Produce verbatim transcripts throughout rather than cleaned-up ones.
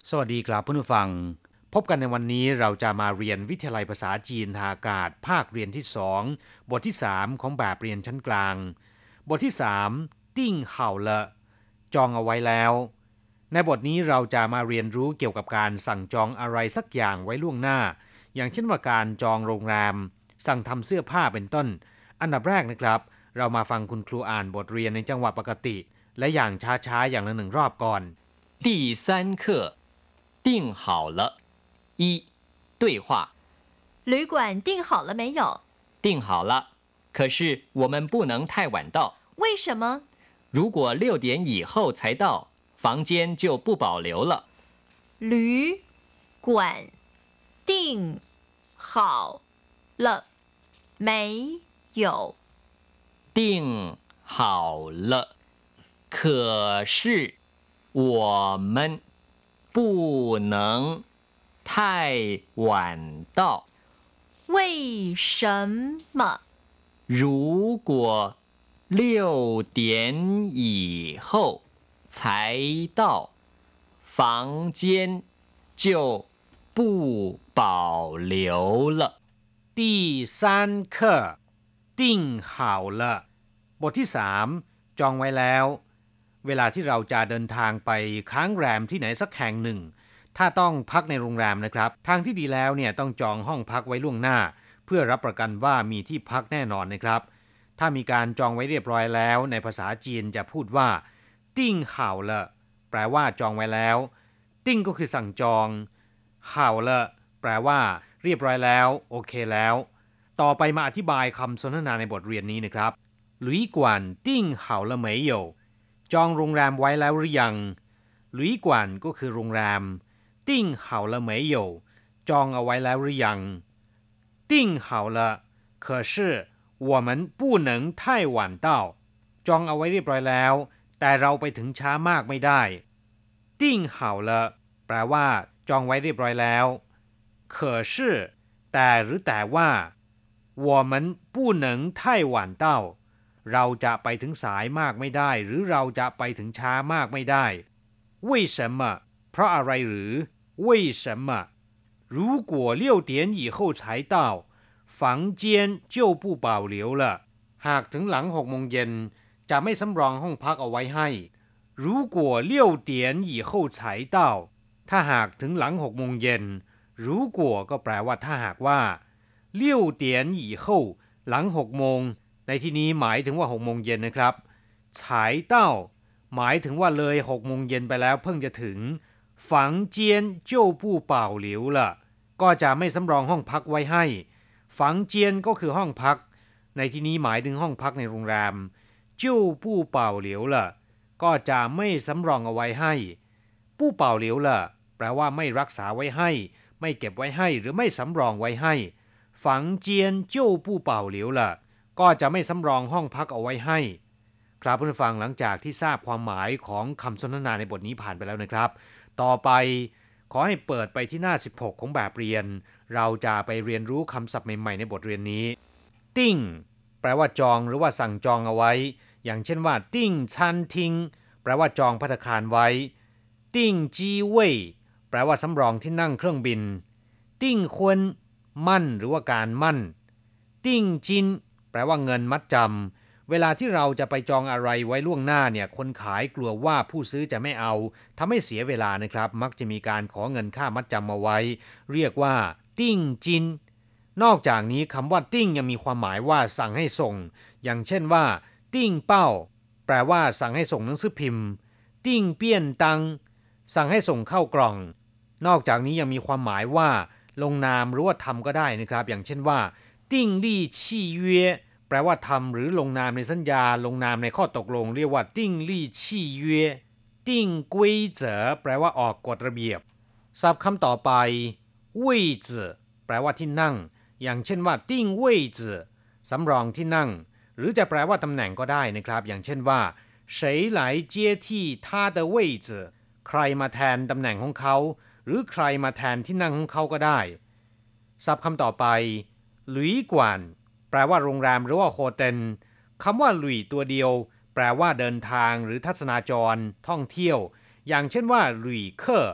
สวัสดีครับผู้ฟังพบกันในวันนี้เราจะมาเรียนวิทยาลัยภาษาจีนทางอากาศภาคเรียนที่สองบทที่สามของแบบเรียนชั้นกลางบทที่สามติ้งเห่าละจองเอาไว้แล้วในบทนี้เราจะมาเรียนรู้เกี่ยวกับการสั่งจองอะไรสักอย่างไว้ล่วงหน้าอย่างเช่นว่าการจองโรงแรมสั่งทำเสื้อผ้าเป็นต้นอันดับแรกนะครับเรามาฟังคุณครูอ่านบทเรียนในจังหวะปกติและอย่างช้าๆอย่างละหนึ่งรอบก่อน第三課訂好了一對話旅館訂好了沒有？ 訂好了，可是我們不能太晚到。 為什麼？ 如果六點以後才到，房間就不保留了。 旅館訂好了沒有？ 訂好了，可是我們不能太晚到。 為什麼？ 如果六點以後才到，房間就不保留了。 第三課訂好了บทที่สามจองไว้แล้วเวลาที่เราจะเดินทางไปค้างแรมที่ไหนสักแห่งหนึ่งถ้าต้องพักในโรงแรมนะครับทางที่ดีแล้วเนี่ยต้องจองห้องพักไว้ล่วงหน้าเพื่อรับประกันว่ามีที่พักแน่นอนนะครับถ้ามีการจองไว้เรียบร้อยแล้วในภาษาจีนจะพูดว่าติ้งเห่าละแปลว่าจองไว้แล้วติ้งก็คือสั่งจองเห่าละแปลว่าเรียบร้อยแล้วโอเคแล้วต่อไปมาอธิบายคำสนทนาในบทเรียนนี้นะครับหลุยกวนติ้งเห่าละเหมยโยจองโรงแรมไว้แล้วหรือยังหลุยกวนก็คือโรงแรมติ้งเห่าละเหมยโยจองเอาไว้แล้วหรือยัง订好了可是我们不能太晚到จองเอาไว้เรียบร้อยแล้วแต่เราไปถึงช้ามากไม่ได้订好了แปลว่าจองไว้เรียบร้อยแล้ว可是แต่หรือแต่ว่า我们不能太晚到เราจะไปถึงสายมากไม่ได้หรือเราจะไปถึงช้ามากไม่ได้为什么เพราะอะไรหรือ为什么如果六點以後才到房間就不保留了หากถึงหลังหกโมงเย็นจะไม่สำรองห้องพักเอาไว้ให้如果六點以後才到ถ้าหากถึงหลังหกโมงเย็น如果ก็แปลว่าถ้าหากว่า六點以後หลังหกโมงในที่นี้หมายถึงว่าหกโมงเย็นนะครับ才到หมายถึงว่าเลยหกโมงเย็นไปแล้วเพิ่งจะถึง房間就不保留了ก็จะไม่สำรองห้องพักไว้ให้ฝังเจียนก็คือห้องพักในที่นี้หมายถึงห้องพักในโรงแรมจิ้วปู้เป่าเหลียวล่ะก็จะไม่สำรองเอาไว้ให้ปู้เป่าเหลียวล่ะแปลว่าไม่รักษาไว้ให้ไม่เก็บไว้ให้หรือไม่สำรองไว้ให้ฝังเจียนจิ้วปู้เป่าเหลียวล่ะก็จะไม่สำรองห้องพักเอาไว้ให้ครับผู้ฟังหลังจากที่ทราบความหมายของคำสนทนาในบทนี้ผ่านไปแล้วนะครับต่อไปขอให้เปิดไปที่หน้าสิบหกของแบบเรียนเราจะไปเรียนรู้คำศัพท์ใหม่ๆในบทเรียนนี้ติ้งแปลว่าจองหรือว่าสั่งจองเอาไว้อย่างเช่นว่าติ้งชันทิงแปลว่าจองภัตตาคารไว้ติ้งจีเว่ยแปลว่าสำรองที่นั่งเครื่องบินติ้งควนมั่นหรือว่าการมั่นติ้งจินแปลว่าเงินมัดจำเวลาที่เราจะไปจองอะไรไว้ล่วงหน้าเนี่ยคนขายกลัวว่าผู้ซื้อจะไม่เอาทำให้เสียเวลานะครับมักจะมีการขอเงินค่ามัดจำมาไว้เรียกว่าติ้งจินนอกจากนี้คำว่าติ้งยังมีความหมายว่าสั่งให้ส่งอย่างเช่นว่าติ้งเป้าแปลว่าสั่งให้ส่งหนังสือพิมพ์ติ้งเปี้ยนตังสั่งให้ส่งเข้ากล่องนอกจากนี้ยังมีความหมายว่าลงนามหรือว่าทำก็ได้นะครับอย่างเช่นว่าติ้งลี่ชี่เย่แปลว่าทำหรือลงนามในสัญญาลงนามในข้อตกลงเรียกว่าติ้งลี่ชี่เย่ติ้งกวยเจ๋อแปลว่าออกกฎระเบียบศัพท์คำต่อไปเว่ยจื่อแปลว่าที่นั่งอย่างเช่นว่าติ้งเว่ยจื่อสำรองที่นั่งหรือจะแปลว่าตำแหน่งก็ได้นะครับอย่างเช่นว่า谁来接替他的位置ใครมาแทนตำแหน่งของเขาหรือใครมาแทนที่นั่งของเขาก็ได้ศัพท์คำต่อไปหลุยกวนแปลว่าโรงแรมหรือว่าโฮเทลคำว่าหลุยตัวเดียวแปลว่าเดินทางหรือทัศนาจรท่องเที่ยวอย่างเช่นว่าหลุยเคอร์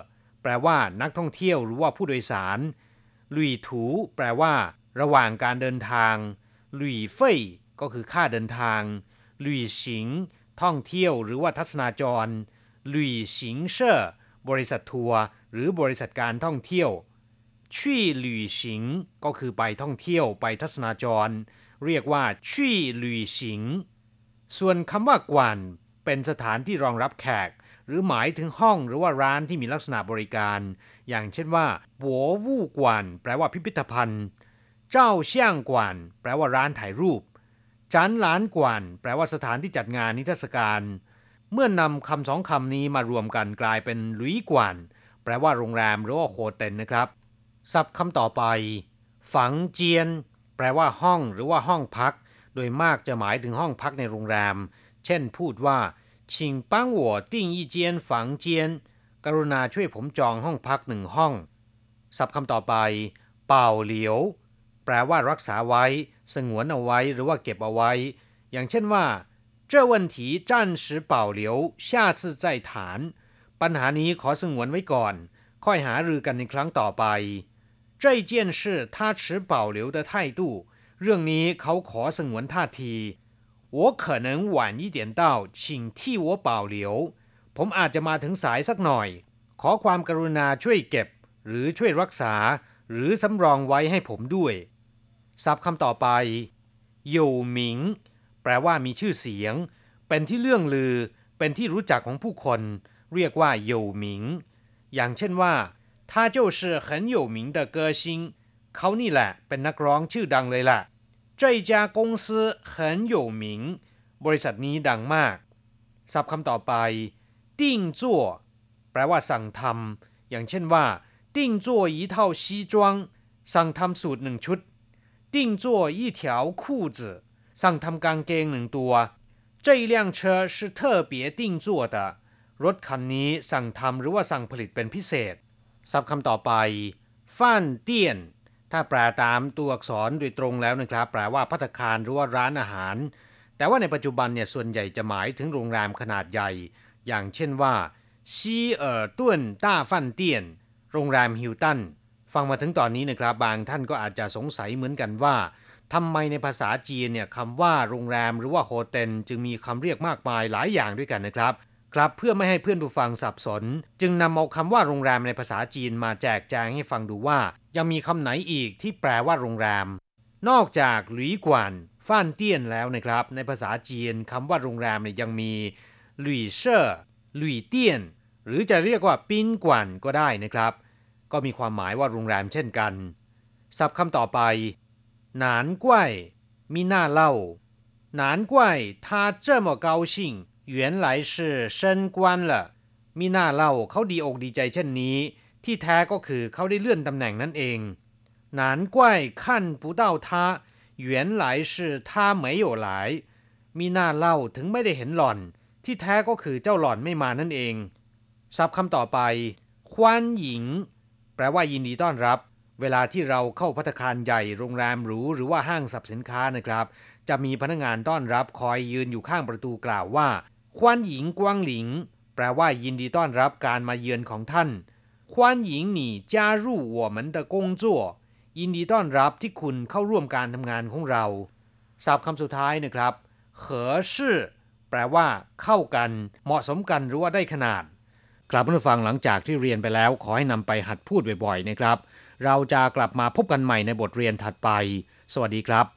แปลว่านักท่องเที่ยวหรือว่าผู้โดยสารหลุยถูแปลว่าระหว่างการเดินทางหลุยเฟ่ยก็คือค่าเดินทางหลุยสิงท่องเที่ยวหรือว่าทัศนาจรหลุยสิงเช่อบริษัททัวร์หรือบริษัทการท่องเที่ยวชี่หลุยสิงก็คือไปท่องเที่ยวไปทัศนาจรเรียกว่าชี่หลุยสิงส่วนคำว่ากวนเป็นสถานที่รองรับแขกหรือหมายถึงห้องหรือว่าร้านที่มีลักษณะบริการอย่างเช่นว่าบัววู่กวนแปลว่าพิพิธภัณฑ์เจ้าเซี่ยงกวนแปลว่าร้านถ่ายรูปจันหลานกวนแปลว่าสถานที่จัดงานนิทรรศการเมื่อนำคำสองคำนี้มารวมกันกลายเป็นหลุยกวนแปลว่าโรงแรมหรือว่าโฮเทลนะครับศัพท์คำต่อไปฝังเจียนแปลว่าห้องหรือว่าห้องพักโดยมากจะหมายถึงห้องพักในโรงแรมเช่นพูดว่า请帮我订一间房间กรุณาช่วยผมจองห้องพักหนึ่งห้องศัพท์คำต่อไปเป่าเหลียวแปลว่ารักษาไว้สงวนเอาไว้หรือว่าเก็บเอาไว้อย่างเช่นว่า这问题暫時保留下次再談ปัญหานี้ขอสงวนไว้ก่อนค่อยหารือกันในครั้งต่อไป这件事他持保留的態度เรื่องนี้เขาขอสงวนท่าที我可能晚一點到請替我保留ผมอาจจะมาถึงสายสักหน่อยขอความกรุณาช่วยเก็บหรือช่วยรักษาหรือสำรองไว้ให้ผมด้วยศัพท์คำต่อไปหยู่หมิงแปลว่ามีชื่อเสียงเป็นที่เลื่องลือเป็นที่รู้จักของผู้คนเรียกว่าหยู่หมิงอย่างเช่นว่า他就是很有名的歌星เขานี่แหละเป็นนักร้องชื่อดังเลยล่ะ这家公司很有名บริษัทนี้ดังมากศัพท์คำต่อไปติ้งจั่วแปลว่าสั่งทำอย่างเช่นว่าติ้งจั่ว一套西裝สั่งทำสูตรหนึ่งชุดติ้งจั่ว一條褲子สั่งทำกางเกงหนึ่งตัว这一輛車是特別訂做的รถคันนี้สั่งทำหรือว่าสั่งผลิตเป็นพิเศษศัพท์คำต่อไปฟ่านเตี้ยนถ้าแปลตามตัวอักษรโดยตรงแล้วนะครับแปลว่าภัตตาคารหรือว่าร้านอาหารแต่ว่าในปัจจุบันเนี่ยส่วนใหญ่จะหมายถึงโรงแรมขนาดใหญ่อย่างเช่นว่าซีเอ๋อต้วนต้าฟ่านเตี้ยนโรงแรมฮิลตันฟังมาถึงตอนนี้นะครับบางท่านก็อาจจะสงสัยเหมือนกันว่าทำไมในภาษาจีนเนี่ยคำว่าโรงแรมหรือว่าโฮเทลจึงมีคำเรียกมากมายหลายอย่างด้วยกันนะครับครับเพื่อไม่ให้เพื่อนผู้ฟังสับสนจึงนำเอาคำว่าโรงแรมในภาษาจีนมาแจกแจงให้ฟังดูว่ายังมีคำไหนอีกที่แปลว่าโรงแรมนอกจากหลุยกวนฟ่านเตี้ยนแล้วนะครับในภาษาจีนคำว่าโรงแรมเนี่ยยังมีหลุยเช่อหลุยเตี้ยนหรือจะเรียกว่าปิ้นกวนก็ได้นะครับก็มีความหมายว่าโรงแรมเช่นกันศัพท์คำต่อไปหนานกว้ยมีหน้าเล่าหนานกว้ย他這麼高興原來是升官了มีหน้าเล่าเขาดีอกดีใจเช่นนี้ที่แท้ก็คือเขาได้เลื่อนตำแหน่งนั่นเอง难怪看不到他原來是他沒有來มีหน้าเล่าถึงไม่ได้เห็นหล่อนที่แท้ก็คือเจ้าหล่อนไม่มานั่นเองศัพท์คำต่อไปคว้านหญิงแปลว่ายินดีต้อนรับเวลาที่เราเข้าภัตตาคารใหญ่โรงแรมหรูหรือว่าห้างสรรพสินค้านะครับจะมีพนักงานต้อนรับคอยยืนอยู่ข้างประตูกล่าวว่าคว้านหญิงกวางหลิงแปลว่ายินดีต้อนรับการมาเยือนของท่าน欢迎你加入我们的工作ยินดีต้อนรับที่คุณเข้าร่วมการทำงานของเราศัพท์คำสุดท้ายนะครับ合适แปลว่าเข้ากันเหมาะสมกันหรือว่าได้ขนาดครับผู้ฟังหลังจากที่เรียนไปแล้วขอให้นำไปหัดพูดบ่อยๆนะครับเราจะกลับมาพบกันใหม่ในบทเรียนถัดไปสวัสดีครับ